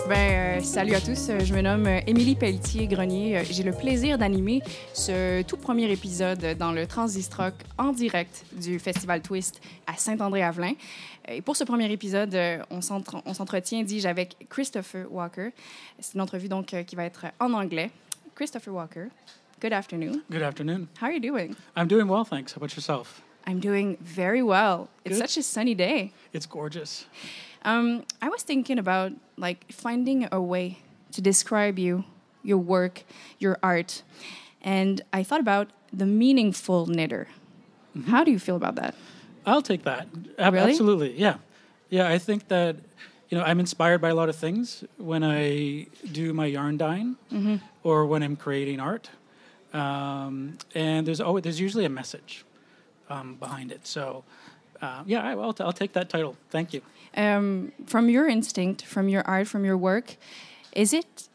Salut à tous, je me nomme Émilie Pelletier-Grenier. J'ai le plaisir d'animer ce tout premier épisode dans le Transistrock en direct du Festival Twist à Saint-André-Avelin. Et pour ce premier épisode, on s'entretient, dis-je, avec Christopher Walker. C'est une entrevue donc qui va être en anglais. Christopher Walker, good afternoon. Good afternoon. How are you doing? I'm doing well, thanks. How about yourself? I'm doing very well. It's Good. such a sunny day. It's gorgeous. I was thinking about finding a way to describe you, your work, your art, and I thought about the meaningful knitter. Mm-hmm. How do you feel about that? I'll take that. Really? Absolutely, yeah. Yeah, I think that, I'm inspired by a lot of things when I do my yarn dyeing or when I'm creating art. And there's usually a message behind it. So, I'll take that title. Thank you. From your instinct, from your art, from your work, is it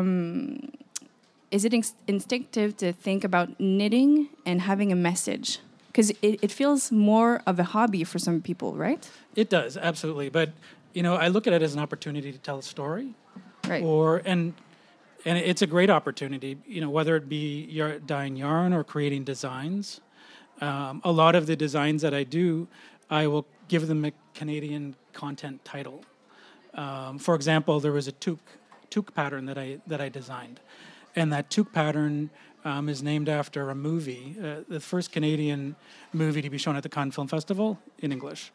instinctive to think about knitting and having a message? Because it feels more of a hobby for some people, right? It does, absolutely. But, I look at it as an opportunity to tell a story. Right. And it's a great opportunity, whether it be dyeing yarn or creating designs. A lot of the designs that I do, I will give them a Canadian content title. For example, there was a toque pattern that I designed, and that toque pattern is named after a movie, the first Canadian movie to be shown at the Cannes Film Festival in English.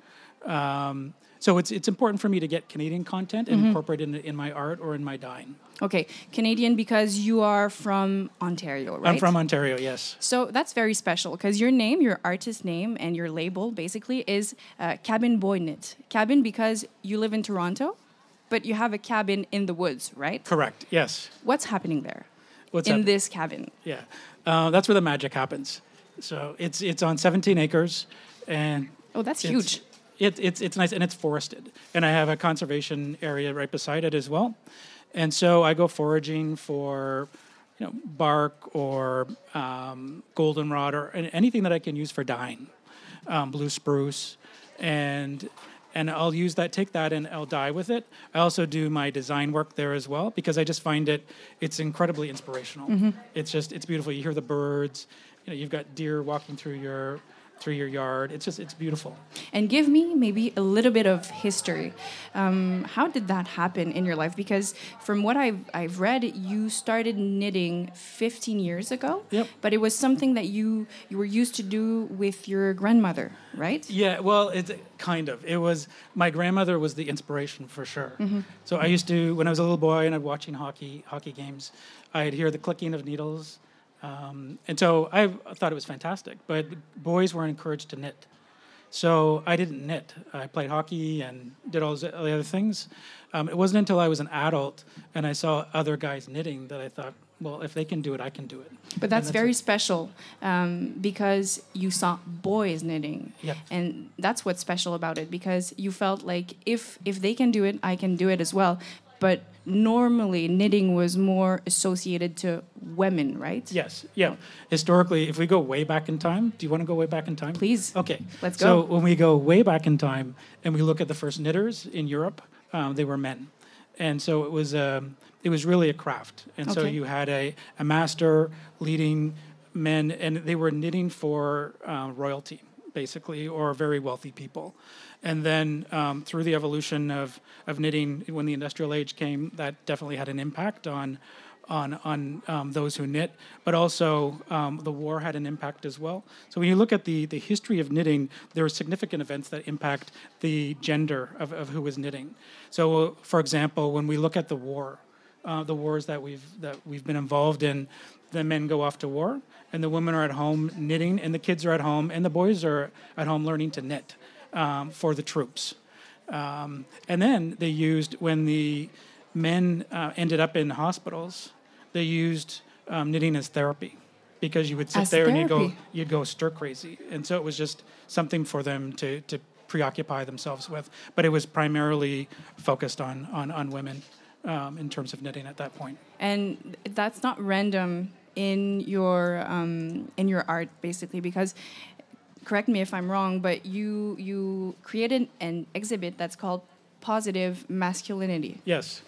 So it's important for me to get Canadian content and incorporate it in my art or in my dyeing. Okay, Canadian because you are from Ontario, right? I'm from Ontario, yes. So that's very special because your name, your artist name, and your label basically is Cabin Boy Knit. Cabin because you live in Toronto, but you have a cabin in the woods, right? Correct, yes. What's happening there? What's in this cabin? Yeah, that's where the magic happens. So it's on 17 acres, and oh, that's huge. It's nice, and it's forested, and I have a conservation area right beside it as well. And so I go foraging for, bark or goldenrod or anything that I can use for dyeing, blue spruce, and I'll take that and I'll dye with it. I also do my design work there as well because I just find it's incredibly inspirational. Mm-hmm. It's beautiful. You hear the birds, you've got deer walking through your yard. It's beautiful. And give me maybe a little bit of history. How did that happen in your life? Because from what I've read, you started knitting 15 years ago. Yep. But it was something that you were used to do with your grandmother, right? Yeah, well, it's kind of. It was, my grandmother was the inspiration for sure. Mm-hmm. So I used to, when I was a little boy and I'd watching hockey games, I'd hear the clicking of needles. And so I thought it was fantastic, but boys weren't encouraged to knit. So I didn't knit. I played hockey and did all the other things. It wasn't until I was an adult and I saw other guys knitting that I thought, well, if they can do it, I can do it. But that's very special because you saw boys knitting. Yep. And that's what's special about it because you felt like if they can do it, I can do it as well. But normally, knitting was more associated to women, right? Yes, yeah. Historically, if we go way back in time, do you want to go way back in time? Please. Okay. Let's go. So when we go way back in time and we look at the first knitters in Europe, they were men. And so it was really a craft. And so you had a master leading men, and they were knitting for royalty, basically, or very wealthy people. And then through the evolution of knitting, when the industrial age came, that definitely had an impact on those who knit. But also the war had an impact as well. So when you look at the history of knitting, there are significant events that impact the gender of who is knitting. So, for example, when we look at the wars that we've been involved in, the men go off to war, and the women are at home knitting, and the kids are at home, and the boys are at home learning to knit. For the troops. And then they used, when the men ended up in hospitals, they used knitting as therapy because you would sit there and you'd go stir crazy. And so it was just something for them to preoccupy themselves with. But it was primarily focused on women in terms of knitting at that point. And that's not random in your art, basically, because correct me if I'm wrong, but you created an exhibit that's called Positive Masculinity. Yes.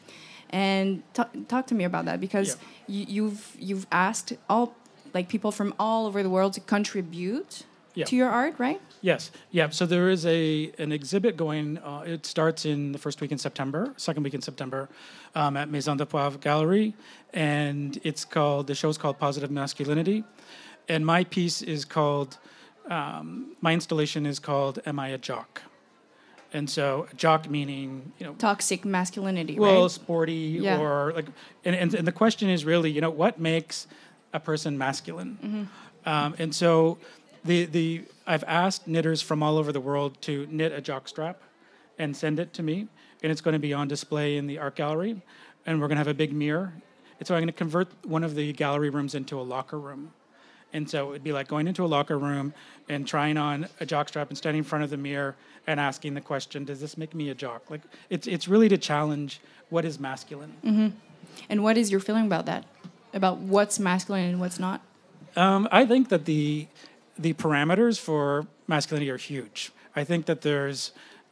And talk to me about that, because you've asked all, like, people from all over the world to contribute to your art, right? Yes. Yeah. So there is an exhibit going. It starts in the first week in September, second week in September, at Maison de Poivre Gallery, and the show's called Positive Masculinity, and my piece is called. My installation is called "Am I a Jock?" And so, jock meaning toxic masculinity, well, right? sporty or like, and the question is really what makes a person masculine, and so. I've asked knitters from all over the world to knit a jock strap and send it to me, and it's going to be on display in the art gallery, and we're going to have a big mirror. And so I'm going to convert one of the gallery rooms into a locker room. And so it'd be like going into a locker room and trying on a jock strap and standing in front of the mirror and asking the question, does this make me a jock? Like it's really to challenge what is masculine. Mm-hmm. And what is your feeling about that? About what's masculine and what's not? I think that the parameters for masculinity are huge. I think that there's,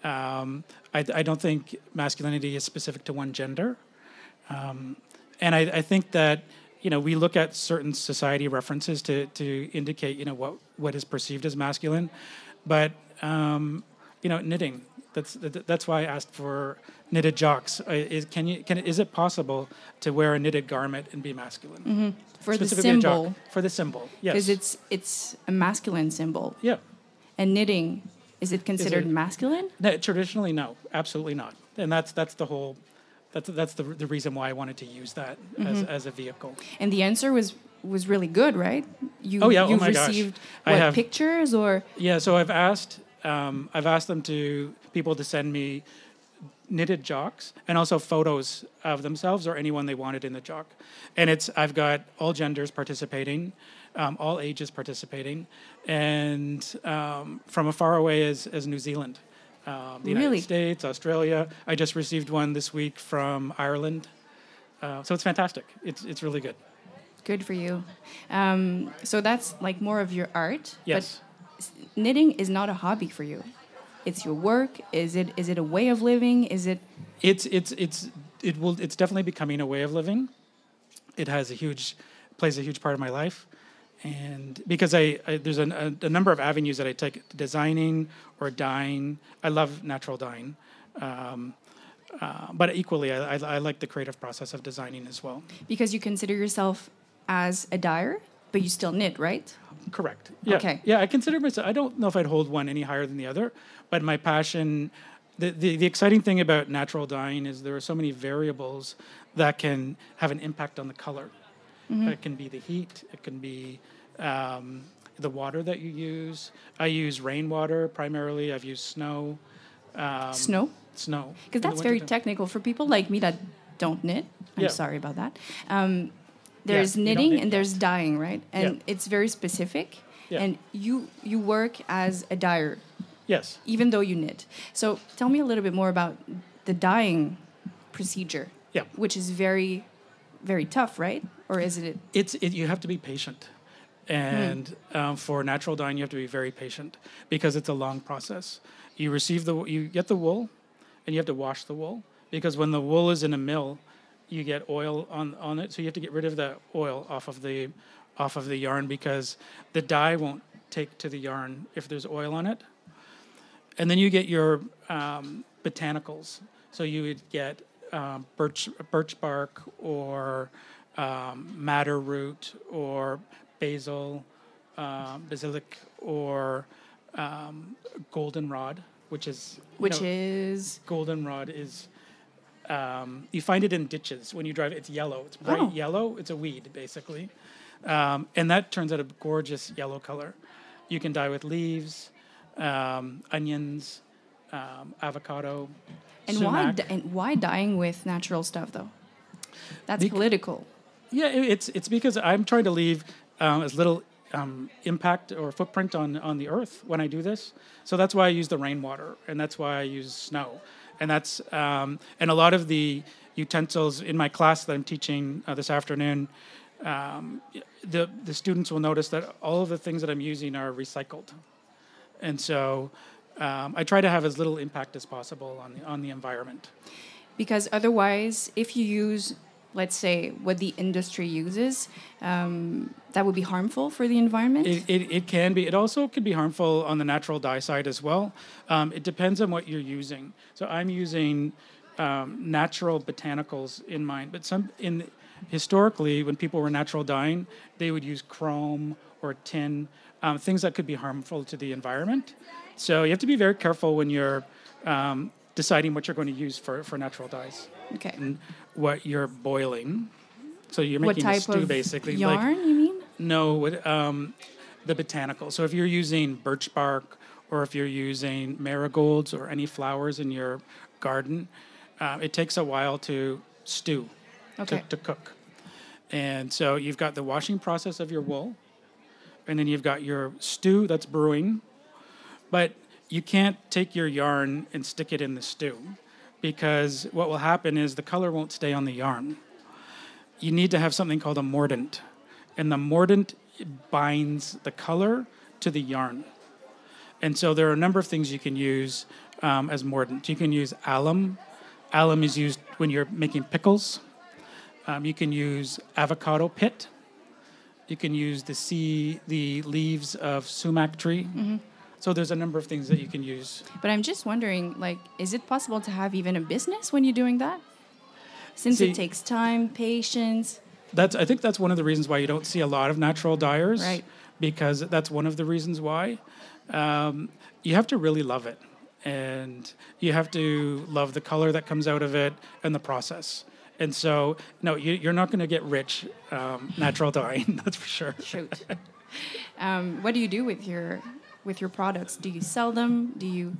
I don't think masculinity is specific to one gender. And I think that, we look at certain society references to indicate, what is perceived as masculine. But, knitting, that's why I asked for knitted jocks. Is it possible to wear a knitted garment and be masculine? Mm-hmm. For the symbol. For the symbol, yes. Because it's a masculine symbol. Yeah. And knitting, is it considered masculine? No, traditionally, no, absolutely not. And that's the whole. That's the reason why I wanted to use that as a vehicle. And the answer was really good, right? You've received pictures or? Yeah, so I've asked people to send me knitted jocks and also photos of themselves or anyone they wanted in the jock. And I've got all genders participating, all ages participating, and from as far away as New Zealand. The United States, Australia. I just received one this week from Ireland. So it's fantastic. It's really good. Good for you. So that's like more of your art. Yes. But knitting is not a hobby for you. It's your work. Is it a way of living? Is it? It's definitely becoming a way of living. It plays a huge part of my life. And because there's a number of avenues that I take: designing or dyeing. I love natural dyeing, but equally, I like the creative process of designing as well. Because you consider yourself as a dyer, but you still knit, right? Correct. Yeah. Okay. Yeah, I consider myself. I don't know if I'd hold one any higher than the other, but my passion. The exciting thing about natural dyeing is there are so many variables that can have an impact on the color. Mm-hmm. It can be the heat. It can be the water that you use. I use rainwater primarily. I've used snow. Snow? Snow. Because that's very technical for people like me that don't knit. I'm sorry about that. There's knitting and there's dyeing, right? And it's very specific. Yeah. And you work as a dyer. Yes. Even though you knit. So tell me a little bit more about the dyeing procedure. Yeah. Which is very, very tough, right? Or is it? You have to be patient. And for natural dyeing, you have to be very patient because it's a long process. You get the wool, and you have to wash the wool because when the wool is in a mill, you get oil on it. So you have to get rid of the oil off of the yarn because the dye won't take to the yarn if there's oil on it. And then you get your botanicals. So you would get birch bark or madder root or basil, basilic, or goldenrod, which is goldenrod is you find it in ditches when you drive. It's yellow. It's bright yellow. It's a weed basically, and that turns out a gorgeous yellow color. You can dye with leaves, onions, avocado. And sumac. Why dyeing with natural stuff though? That's political. Yeah, it's because I'm trying to leave as little impact or footprint on the earth when I do this. So that's why I use the rainwater, and that's why I use snow, and that's and a lot of the utensils in my class that I'm teaching this afternoon. The students will notice that all of the things that I'm using are recycled, and so I try to have as little impact as possible on the environment. Because otherwise, if you use, let's say, what the industry uses, that would be harmful for the environment? It can be. It also can be harmful on the natural dye side as well. It depends on what you're using. So I'm using natural botanicals in mine, but historically, when people were natural dyeing, they would use chrome or tin, things that could be harmful to the environment. So you have to be very careful when you're deciding what you're going to use for natural dyes. Okay. And what you're boiling. So you're What making a type stew, of basically. yarn, you mean? No, the botanical. So if you're using birch bark, or if you're using marigolds or any flowers in your garden, it takes a while to stew, to cook. And so you've got the washing process of your wool, and then you've got your stew that's brewing. But you can't take your yarn and stick it in the stew, because what will happen is the color won't stay on the yarn. You need to have something called a mordant, and the mordant binds the color to the yarn. And so there are a number of things you can use as mordant. You can use alum. Alum is used when you're making pickles. You can use avocado pit. You can use the leaves of sumac tree. Mm-hmm. So there's a number of things that you can use. But I'm just wondering, is it possible to have even a business when you're doing that? Since it takes time, patience. I think that's one of the reasons why you don't see a lot of natural dyers. Right. Because that's one of the reasons why. You have to really love it. And you have to love the color that comes out of it and the process. And so, no, you're not going to get rich natural dyeing, that's for sure. Shoot. What do you do with your products? Do you sell them? Do you?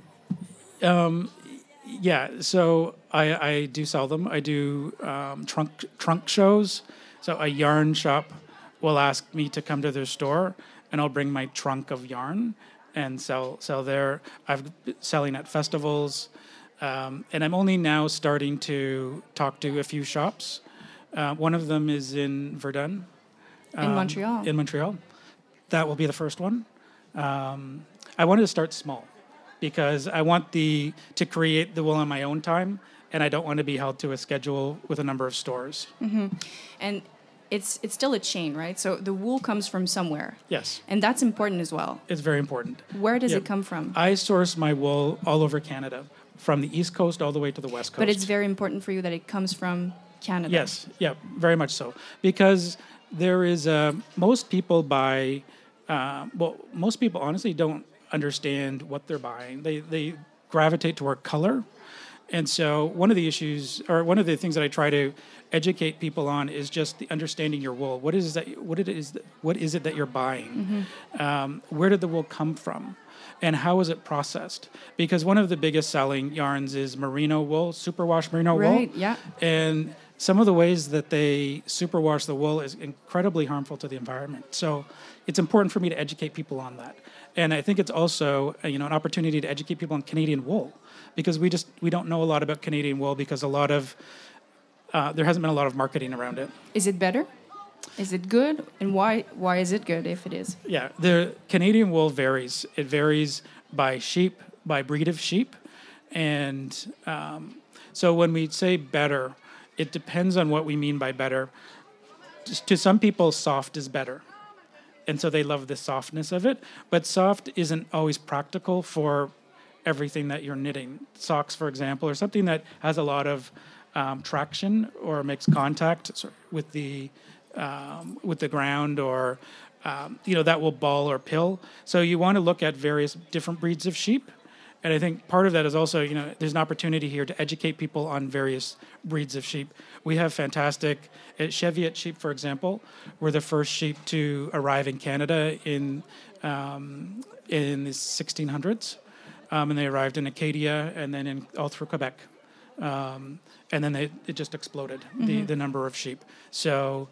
Yeah, so I do sell them. I do trunk shows. So a yarn shop will ask me to come to their store, and I'll bring my trunk of yarn and sell there. I've been selling at festivals, and I'm only now starting to talk to a few shops. One of them is in Verdun. In Montreal. In Montreal. That will be the first one. I wanted to start small because I want to create the wool on my own time, and I don't want to be held to a schedule with a number of stores. Mm-hmm. And it's still a chain, right? So the wool comes from somewhere. Yes. And that's important as well. It's very important. Where does it come from? I source my wool all over Canada, from the East Coast all the way to the West Coast. But it's very important for you that it comes from Canada. Yes, yeah, very much so. Because there is, most people buy, most people honestly don't understand what they're buying. They gravitate toward color. And so one of the issues, or one of the things that I try to educate people on is just the understanding your wool. What is it that you're buying? Mm-hmm. Where did the wool come from? And how is it processed? Because one of the biggest selling yarns is merino wool, superwash merino wool. Right, yeah. And some of the ways that they superwash the wool is incredibly harmful to the environment. So it's important for me to educate people on that. And I think it's also an opportunity to educate people on Canadian wool, because we don't know a lot about Canadian wool because there hasn't been a lot of marketing around it. Is it better? Is it good? And why is it good if it is? Yeah, the Canadian wool varies. It varies by sheep, by breed of sheep. And so when we say better, it depends on what we mean by better. To some people, soft is better. And so they love the softness of it. But soft isn't always practical for everything that you're knitting. Socks, for example, or something that has a lot of traction or makes contact with the ground, or that will ball or pill. So you want to look at various different breeds of sheep. And I think part of that is also, there's an opportunity here to educate people on various breeds of sheep. We have fantastic Cheviot sheep, for example, were the first sheep to arrive in Canada in the 1600s. And they arrived in Acadia and then all through Quebec. And then it just exploded, the number of sheep. So,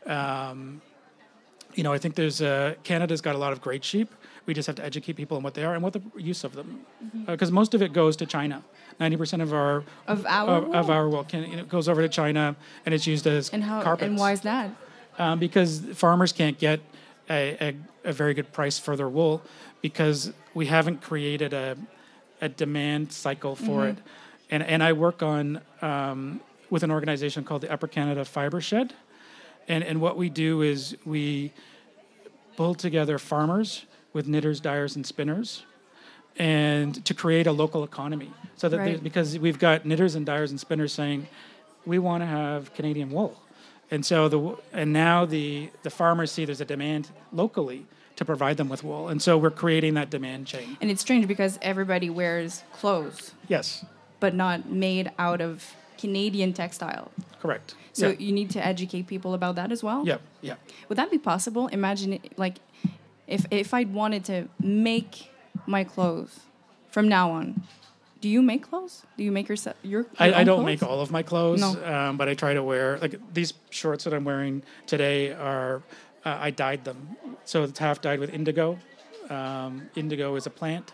I think Canada's got a lot of great sheep. We just have to educate people on what they are and what the use of them, because most of it goes to China. 90% of our wool goes over to China, and it's used as carpets. And why is that? Because farmers can't get a very good price for their wool, because we haven't created a demand cycle for it. and I work on with an organization called the Upper Canada Fiber Shed, and what we do is we pull together farmers with knitters, dyers, and spinners, and to create a local economy. So that Right. because we've got knitters and dyers and spinners saying, we want to have Canadian wool, and so now the farmers see there's a demand locally to provide them with wool, and so we're creating that demand chain. And it's strange because everybody wears clothes, Yes, but not made out of Canadian textile. correct. So yeah, you need to educate people about that as well? yeah, yeah. Would that be possible? Imagine, like, if I wanted to make my clothes from now on, do you make clothes? Do you make your I own don't clothes? make all of my clothes, No. but I try to wear, like these shorts that I'm wearing today are, I dyed them. So it's half dyed with indigo. Indigo is a plant.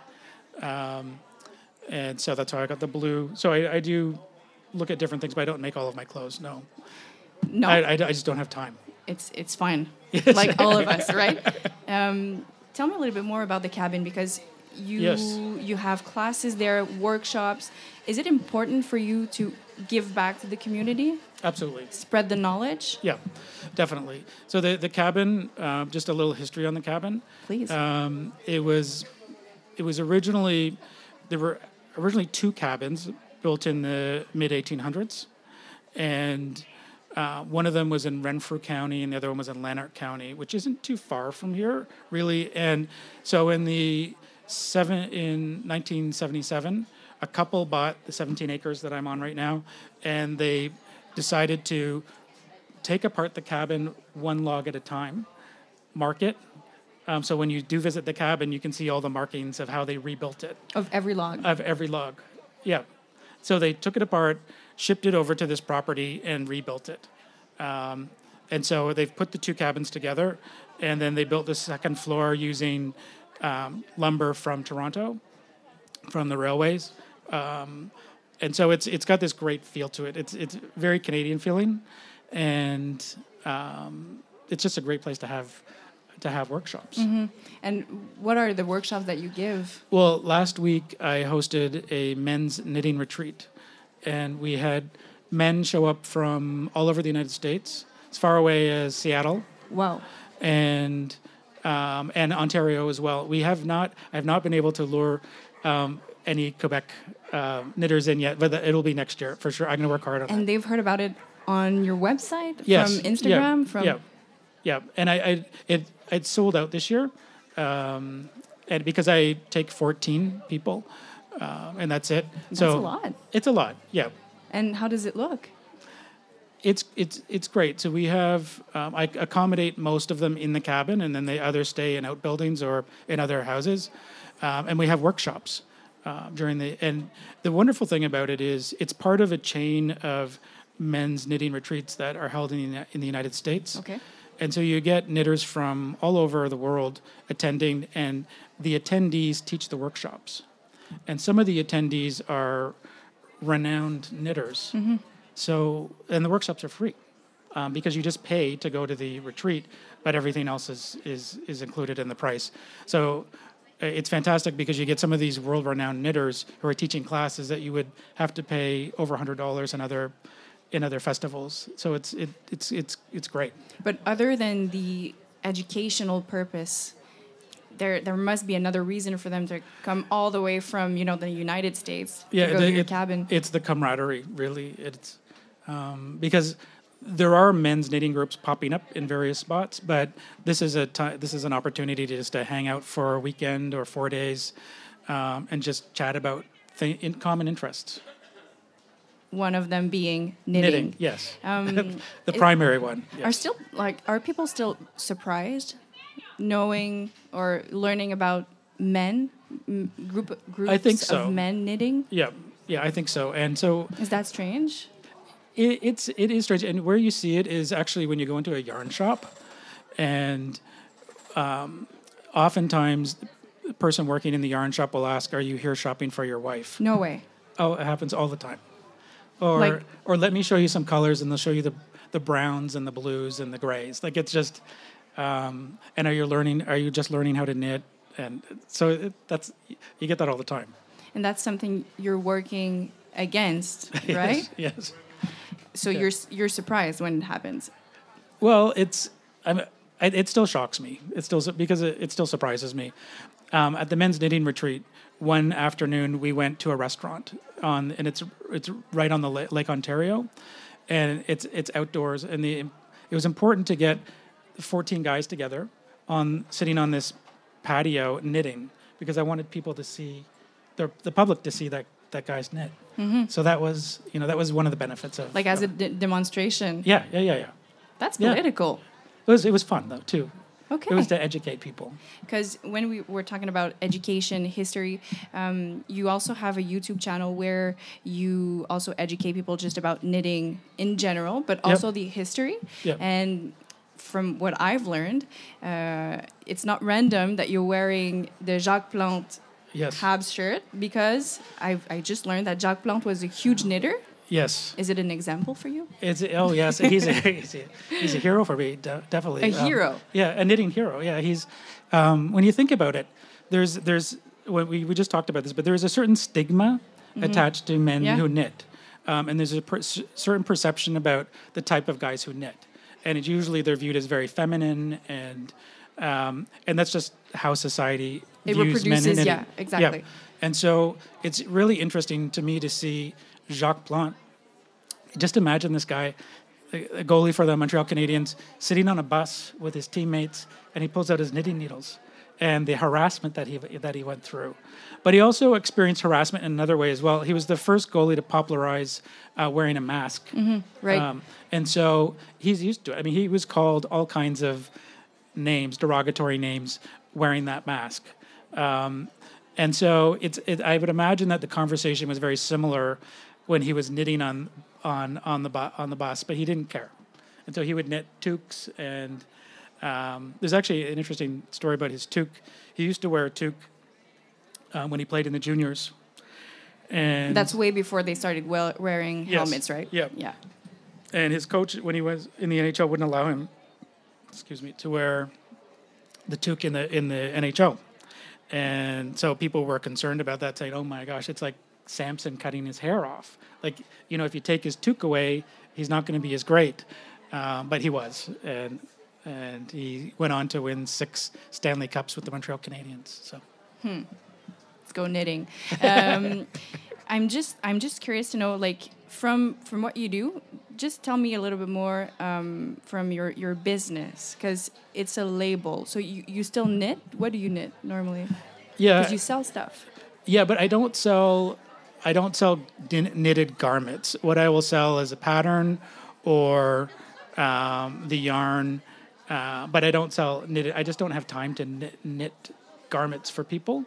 And so that's how I got the blue. So I do look at different things, but I don't make all of my clothes, no. No, I just don't have time. it's fine. Yes. Like all of us, right? Tell me a little bit more about the cabin because Yes. you have classes there, workshops. Is it important for you to give back to the community, Absolutely. spread the knowledge? Yeah, definitely. So the cabin, just a little history on the cabin. Please. It was originally, there were originally two cabins built in the mid 1800s, and one of them was in Renfrew County, and the other one was in Lanark County, which isn't too far from here, really. And so in 1977, a couple bought the 17 acres that I'm on right now, and they decided to take apart the cabin one log at a time, mark it. So when you do visit the cabin, you can see all the markings of how they rebuilt it. Of every log. Of every log. Yeah. So they took it apart, shipped it over to this property, and rebuilt it. And so they've put the two cabins together, and then they built the second floor using lumber from Toronto, from the railways. And so it's got this great feel to it. It's very Canadian feeling, and it's just a great place to have workshops. Mm-hmm. And what are the workshops that you give? Well, last week I hosted a men's knitting retreat, and we had men show up from all over the United States, as far away as Seattle. Wow. And Ontario as well. I have not been able to lure any Quebec knitters in yet, but it'll be next year for sure. I'm going to work hard on it. And they've heard about it on your website, Yes. from Instagram, Yeah. And it sold out this year, and because I take 14 people, and that's it. That's a lot. It's a lot. Yeah. And how does it look? It's great. So we have I accommodate most of them in the cabin, and then they either stay in outbuildings or in other houses, and we have workshops and the wonderful thing about it is it's part of a chain of men's knitting retreats that are held in the United States. Okay. And so you get knitters from all over the world attending, and the attendees teach the workshops. And some of the attendees are renowned knitters. Mm-hmm. So, and the workshops are free because you just pay to go to the retreat, but everything else is included in the price. So it's fantastic because you get some of these world-renowned knitters who are teaching classes that you would have to pay over $100 in other festivals. So it's great. But other than the educational purpose, there must be another reason for them to come all the way from the United States to go to your cabin. It's the camaraderie, really. It's because there are men's knitting groups popping up in various spots, but this is an opportunity to just to hang out for a weekend or 4 days, and just chat about in common interests. One of them being knitting. Yes. The primary one. Yes. Are people still surprised knowing or learning about groups I think so. of men knitting? Yeah, I think so. And so Is that strange? it is strange. And where you see it is actually when you go into a yarn shop, and oftentimes the person working in the yarn shop will ask, "Are you here shopping for your wife?" No way. Oh, it happens all the time. Or let me show you some colors, and they'll show you the browns and the blues and the grays. Like it's just, and are you just learning how to knit? And so you get that all the time. And that's something you're working against, right? Yes. So you're surprised when it happens. Well, it still shocks me. It still surprises me. At the men's knitting retreat, one afternoon we went to a restaurant and it's right on the Lake Ontario, and it's outdoors, and it was important to get 14 guys together sitting on this patio knitting, because I wanted people to see the public to see that guys knit. Mm-hmm. So that was one of the benefits of like as a demonstration. Yeah. That's political. Yeah. It was fun though too. Okay. It was to educate people. Because when we were talking about education, history, you also have a YouTube channel where you also educate people just about knitting in general, but also the history. Yep. And from what I've learned, it's not random that you're wearing the Jacques Plante Habs shirt, because I just learned that Jacques Plante was a huge knitter. Yes. Is it an example for you? Yes. He's a hero for me, definitely. A hero. A knitting hero. Yeah, he's. When you think about it, there's when we just talked about this, but there is a certain stigma attached to men who knit, and there's a certain perception about the type of guys who knit, and they're viewed as very feminine, and that's just how society views men in knitting. Yeah, exactly. Yeah. And so it's really interesting to me to see Jacques Plante. Just imagine this guy, a goalie for the Montreal Canadiens, sitting on a bus with his teammates, and he pulls out his knitting needles, and the harassment that he went through. But he also experienced harassment in another way as well. He was the first goalie to popularize wearing a mask. Mm-hmm, right. And so he's used to it. I mean, he was called all kinds of names, derogatory names, wearing that mask. And so I would imagine that the conversation was very similar when he was knitting on the bus, but he didn't care. And so he would knit toques, and there's actually an interesting story about his toque. He used to wear a toque when he played in the juniors. And that's way before they started wearing helmets, right? Yeah. And his coach, when he was in the NHL, wouldn't allow him, to wear the toque in the NHL. And so people were concerned about that, saying, "Oh my gosh, it's like Samson cutting his hair off. Like, if you take his toque away, he's not going to be as great." But he was, and he went on to win 6 Stanley Cups with the Montreal Canadiens. So, let's go knitting. I'm just curious to know, like, from what you do, just tell me a little bit more from your business, because it's a label. So you still knit? What do you knit normally? Yeah, because you sell stuff. Yeah, but I don't sell knitted garments. What I will sell is a pattern or the yarn, but I don't sell knitted. I just don't have time to knit garments for people.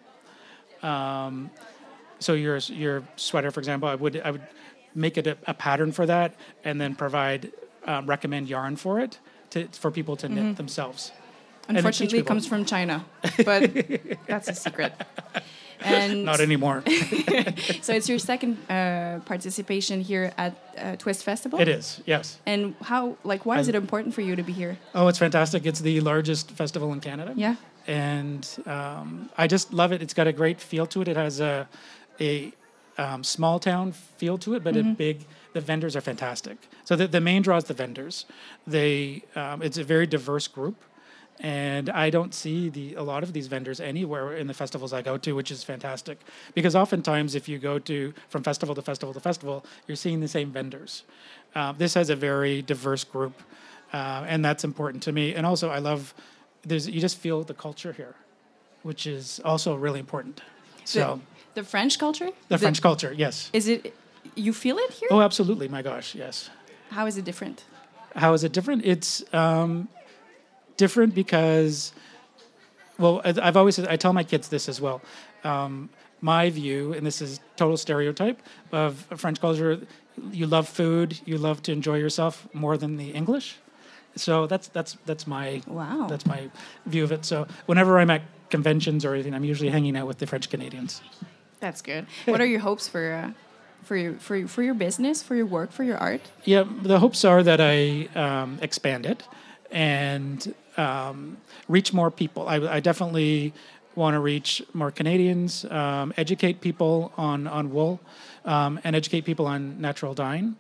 So your sweater, for example, I would make it a pattern for that, and then recommend yarn for it for people to knit themselves. Unfortunately, it comes from China, but that's a secret. And not anymore. So it's your second participation here at Twist Festival? It is, yes. And why is it important for you to be here? Oh, it's fantastic. It's the largest festival in Canada. Yeah. And I just love it. It's got a great feel to it. It has a small town feel to it, but the vendors are fantastic. So the main draw is the vendors. It's a very diverse group. And I don't see a lot of these vendors anywhere in the festivals I go to, which is fantastic. Because oftentimes, if you go from festival to festival to festival, you're seeing the same vendors. This has a very diverse group, and that's important to me. And also, I love you just feel the culture here, which is also really important. So the French culture? The French culture, yes. Is it? You feel it here? Oh, absolutely! My gosh, yes. How is it different? How is it different? It's different because, well, I've always said, I tell my kids this as well. My view, and this is total stereotype of French culture, you love food, you love to enjoy yourself more than the English. So that's my that's my view of it. So whenever I'm at conventions or anything, I'm usually hanging out with the French Canadians. That's good. What are your hopes for your business, for your work, for your art? Yeah, the hopes are that I expand it and reach more people. I definitely want to reach more Canadians, educate people on wool, and educate people on natural dyeing.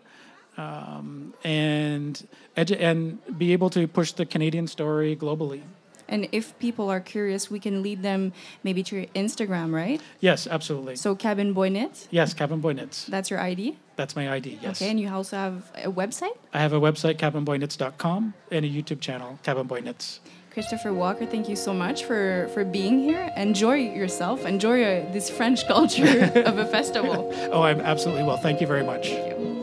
And be able to push the Canadian story globally. And if people are curious, we can lead them maybe to your Instagram, right? Yes, absolutely. So Cabin Boy Knits? Yes, Cabin Boy Knits. That's your ID? That's my ID, yes. Okay, and you also have a website? I have a website, cabinboyknits.com, and a YouTube channel, Cabin Boy Knits. Christopher Walker, thank you so much for being here. Enjoy yourself. Enjoy this French culture of a festival. Oh, I absolutely will. Thank you very much. Thank you.